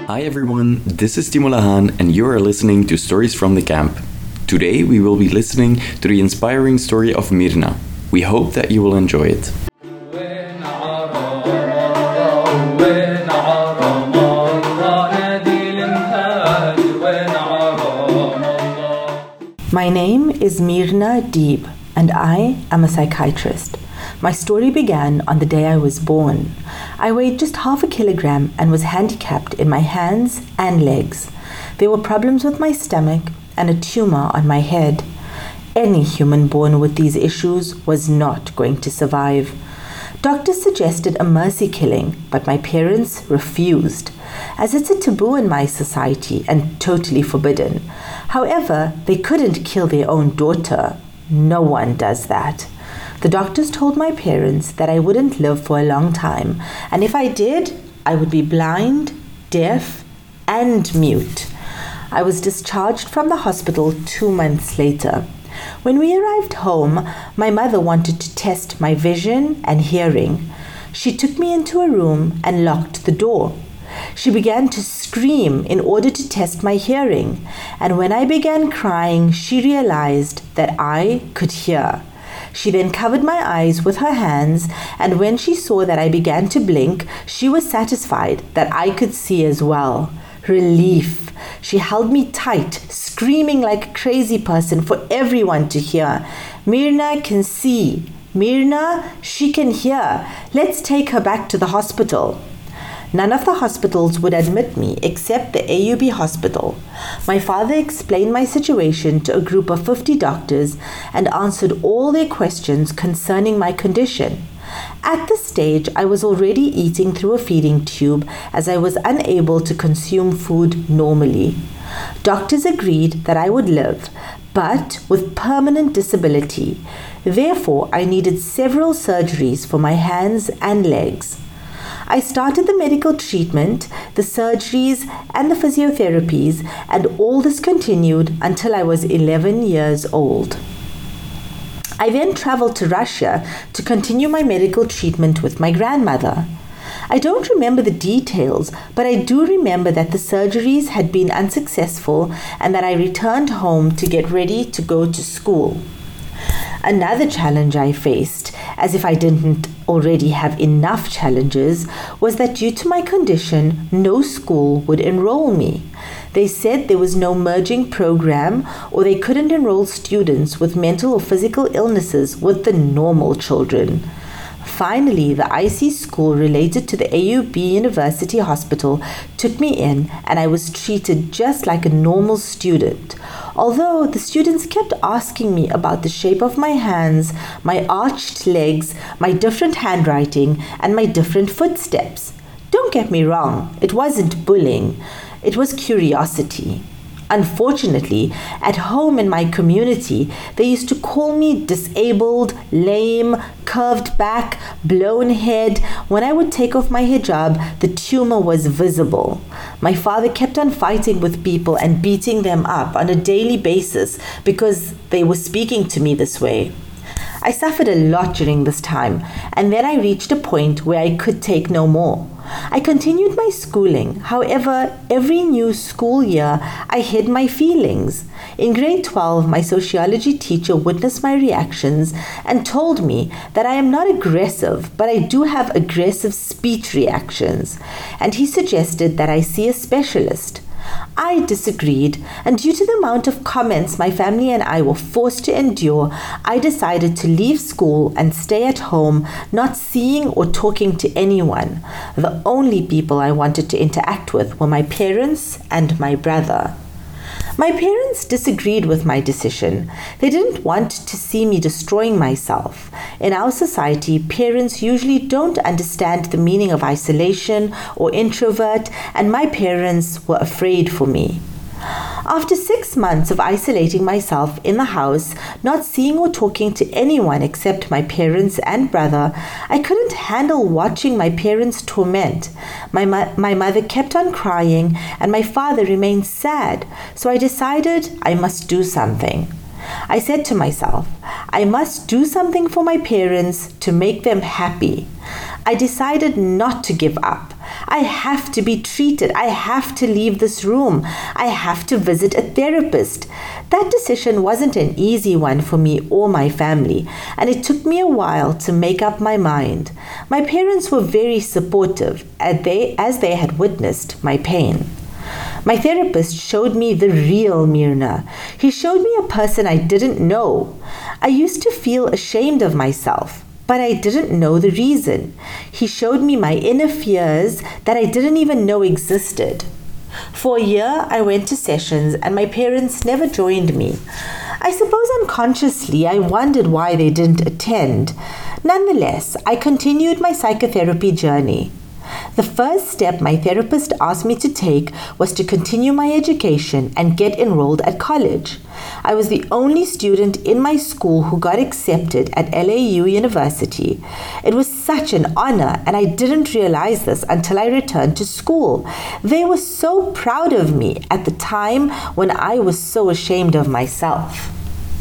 Hi everyone, this is Timo Lahan and you are listening to Stories from the Camp. Today we will be listening to the inspiring story of Mirna. We hope that you will enjoy it. My name is Mirna Deeb and I am a psychiatrist. My story began on the day I was born. I weighed just half a kilogram and was handicapped in my hands and legs. There were problems with my stomach and a tumor on my head. Any human born with these issues was not going to survive. Doctors suggested a mercy killing, but my parents refused, as it's a taboo in my society and totally forbidden. However, they couldn't kill their own daughter. No one does that. The doctors told my parents that I wouldn't live for a long time, and if I did, I would be blind, deaf, and mute. I was discharged from the hospital 2 months later. When we arrived home, my mother wanted to test my vision and hearing. She took me into a room and locked the door. She began to scream in order to test my hearing, and when I began crying, she realized that I could hear. She then covered my eyes with her hands, and when she saw that I began to blink, she was satisfied that I could see as well. Relief. She held me tight, screaming like a crazy person for everyone to hear. Mirna can see. Mirna, she can hear. Let's take her back to the hospital. None of the hospitals would admit me except the AUB hospital. My father explained my situation to a group of 50 doctors and answered all their questions concerning my condition. At this stage, I was already eating through a feeding tube as I was unable to consume food normally. Doctors agreed that I would live, but with permanent disability. Therefore, I needed several surgeries for my hands and legs. I started the medical treatment, the surgeries, and the physiotherapies, and all this continued until I was 11 years old. I then traveled to Russia to continue my medical treatment with my grandmother. I don't remember the details, but I do remember that the surgeries had been unsuccessful and that I returned home to get ready to go to school. Another challenge I faced, as if I didn't already have enough challenges, was that due to my condition, no school would enroll me. They said there was no merging program, or they couldn't enroll students with mental or physical illnesses with the normal children. Finally, the IC school related to the AUB University Hospital took me in, and I was treated just like a normal student. Although the students kept asking me about the shape of my hands, my arched legs, my different handwriting, and my different footsteps. Don't get me wrong, it wasn't bullying, it was curiosity. Unfortunately, at home in my community, they used to call me disabled, lame, curved back, blown head. When I would take off my hijab, the tumor was visible. My father kept on fighting with people and beating them up on a daily basis because they were speaking to me this way. I suffered a lot during this time, and then I reached a point where I could take no more. I continued my schooling. However, every new school year, I hid my feelings. In grade 12, my sociology teacher witnessed my reactions and told me that I am not aggressive, but I do have aggressive speech reactions, and he suggested that I see a specialist. I disagreed, and due to the amount of comments my family and I were forced to endure, I decided to leave school and stay at home, not seeing or talking to anyone. The only people I wanted to interact with were my parents and my brother. My parents disagreed with my decision. They didn't want to see me destroying myself. In our society, parents usually don't understand the meaning of isolation or introvert, and my parents were afraid for me. After 6 months of isolating myself in the house, not seeing or talking to anyone except my parents and brother, I couldn't handle watching my parents torment. My mother kept on crying and my father remained sad, so I decided I must do something. I said to myself, I must do something for my parents to make them happy. I decided not to give up. I have to be treated. I have to leave this room. I have to visit a therapist. That decision wasn't an easy one for me or my family, and it took me a while to make up my mind. My parents were very supportive as they had witnessed my pain. My therapist showed me the real Myrna. He showed me a person I didn't know. I used to feel ashamed of myself, but I didn't know the reason. He showed me my inner fears that I didn't even know existed. For a year, I went to sessions and my parents never joined me. I suppose unconsciously I wondered why they didn't attend. Nonetheless, I continued my psychotherapy journey. The first step my therapist asked me to take was to continue my education and get enrolled at college. I was the only student in my school who got accepted at LAU University. It was such an honor, and I didn't realize this until I returned to school. They were so proud of me at the time when I was so ashamed of myself.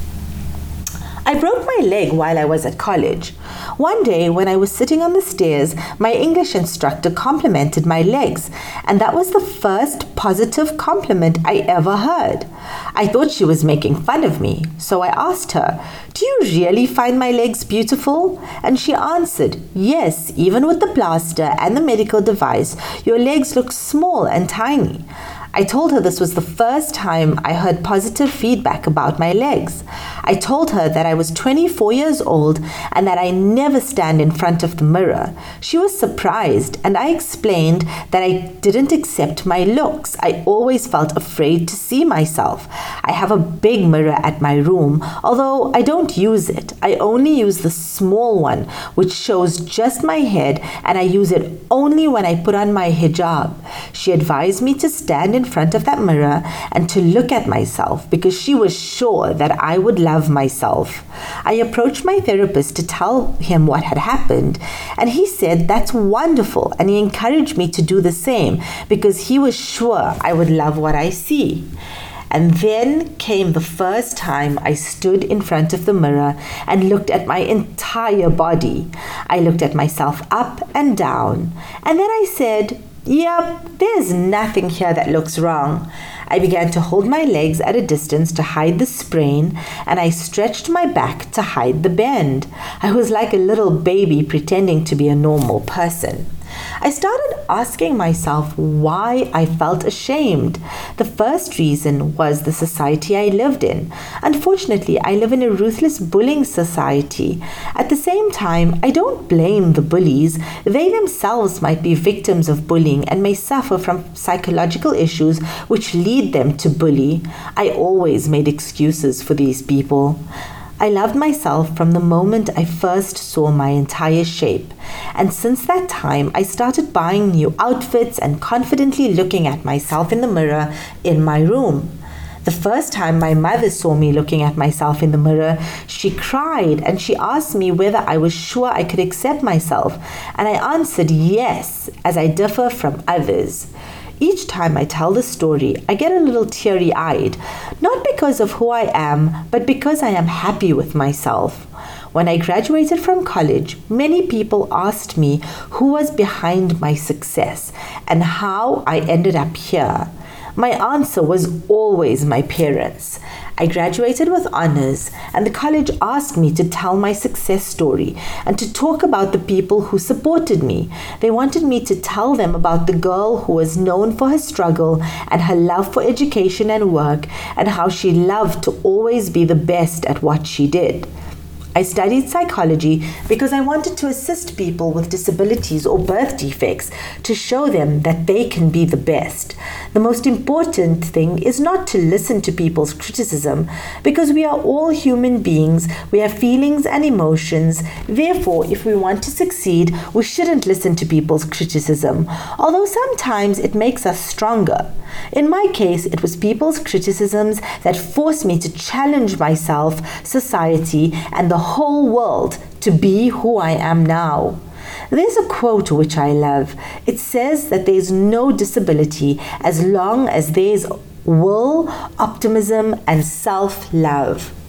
I broke my leg while I was at college. One day, when I was sitting on the stairs, my English instructor complimented my legs, and that was the first positive compliment I ever heard. I thought she was making fun of me, so I asked her, "Do you really find my legs beautiful?" And she answered, "Yes, even with the plaster and the medical device, your legs look small and tiny." I told her this was the first time I heard positive feedback about my legs. I told her that I was 24 years old and that I never stand in front of the mirror. She was surprised, and I explained that I didn't accept my looks. I always felt afraid to see myself. I have a big mirror at my room, although I don't use it. I only use the small one, which shows just my head, and I use it only when I put on my hijab. She advised me to stand in front of that mirror and to look at myself because she was sure that I would love myself. I approached my therapist to tell him what had happened, and he said that's wonderful, and he encouraged me to do the same because he was sure I would love what I see. And then came the first time I stood in front of the mirror and looked at my entire body. I looked at myself up and down, and then I said, "Yep, there's nothing here that looks wrong." I began to hold my legs at a distance to hide the sprain, and I stretched my back to hide the bend. I was like a little baby pretending to be a normal person. I started asking myself why I felt ashamed. The first reason was the society I lived in. Unfortunately, I live in a ruthless bullying society. At the same time, I don't blame the bullies. They themselves might be victims of bullying and may suffer from psychological issues which lead them to bully. I always made excuses for these people. I loved myself from the moment I first saw my entire shape, and since that time I started buying new outfits and confidently looking at myself in the mirror in my room. The first time my mother saw me looking at myself in the mirror, she cried and she asked me whether I was sure I could accept myself, and I answered yes, as I differ from others. Each time I tell the story, I get a little teary-eyed, not because of who I am, but because I am happy with myself. When I graduated from college, many people asked me who was behind my success and how I ended up here. My answer was always my parents. I graduated with honors, and the college asked me to tell my success story and to talk about the people who supported me. They wanted me to tell them about the girl who was known for her struggle and her love for education and work, and how she loved to always be the best at what she did. I studied psychology because I wanted to assist people with disabilities or birth defects to show them that they can be the best. The most important thing is not to listen to people's criticism because we are all human beings. We have feelings and emotions. Therefore, if we want to succeed, we shouldn't listen to people's criticism, although sometimes it makes us stronger. In my case, it was people's criticisms that forced me to challenge myself, society, and the whole world to be who I am now. There's a quote which I love. It says that there's no disability as long as there's will, optimism, and self-love.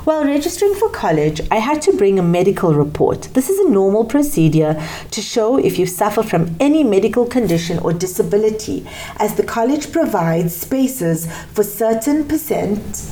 While registering for college, I had to bring a medical report. This is a normal procedure to show if you suffer from any medical condition or disability, as the college provides spaces for a certain percent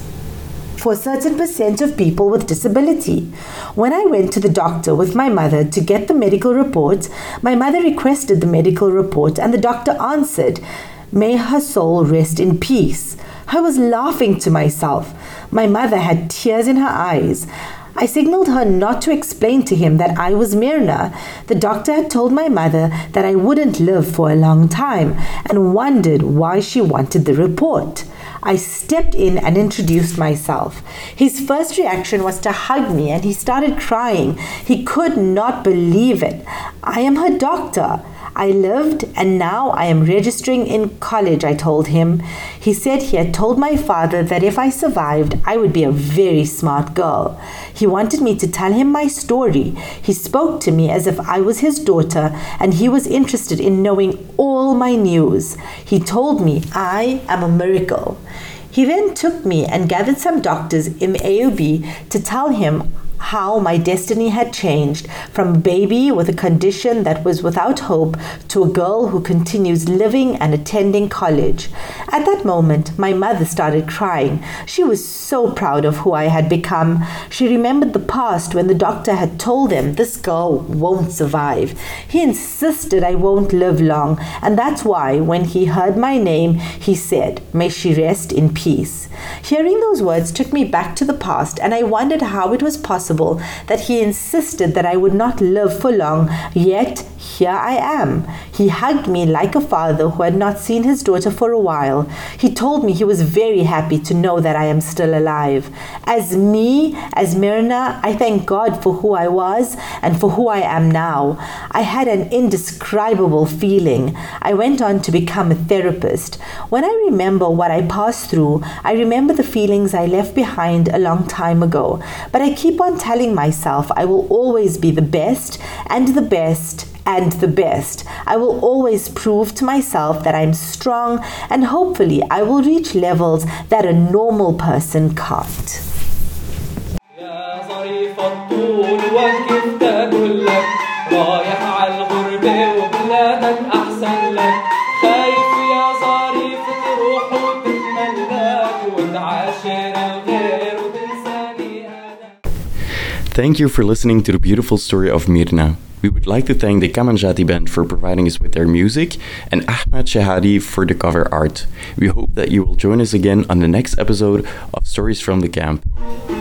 of people with disability. When I went to the doctor with my mother to get the medical report, my mother requested the medical report and the doctor answered, "May her soul rest in peace." I was laughing to myself. My mother had tears in her eyes. I signaled her not to explain to him that I was Myrna. The doctor had told my mother that I wouldn't live for a long time and wondered why she wanted the report. I stepped in and introduced myself. His first reaction was to hug me and he started crying. He could not believe it. "I am her doctor. I lived and now I am registering in college," I told him. He said he had told my father that if I survived, I would be a very smart girl. He wanted me to tell him my story. He spoke to me as if I was his daughter and he was interested in knowing all my news. He told me I am a miracle. He then took me and gathered some doctors in the AUB to tell him how my destiny had changed from a baby with a condition that was without hope to a girl who continues living and attending college. At that moment, my mother started crying. She was so proud of who I had become. She remembered the past when the doctor had told them this girl won't survive. He insisted I won't live long, and that's why when he heard my name, he said, "May she rest in peace." Hearing those words took me back to the past, and I wondered how it was possible that he insisted that I would not live for long, yet here I am. He hugged me like a father who had not seen his daughter for a while. He told me he was very happy to know that I am still alive. As Myrna, I thank God for who I was and for who I am now. I had an indescribable feeling. I went on to become a therapist. When I remember what I passed through, I remember the feelings I left behind a long time ago. But I keep on telling myself I will always be the best and the best and the best. I will always prove to myself that I'm strong, and hopefully I will reach levels that a normal person can't. Thank you for listening to the beautiful story of Myrna. We would like to thank the Kamanjati Band for providing us with their music and Ahmed Shahadi for the cover art. We hope that you will join us again on the next episode of Stories from the Camp.